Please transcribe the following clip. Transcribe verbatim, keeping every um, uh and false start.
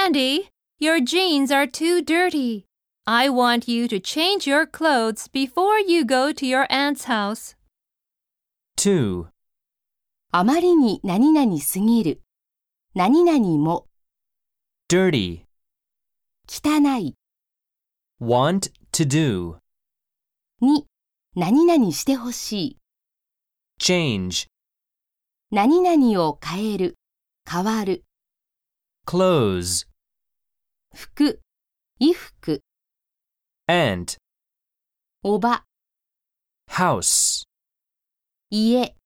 Sandy, your jeans are too dirty. I want you to change your clothes before you go to your aunt's house. two. あまりに何々すぎる。何々も Dirty. 汚い。 Want to do. に何々してほしい。 Change. 何々を変える。変わる。 Clothes. 服。衣服。 Aunt. おば。 House. 家。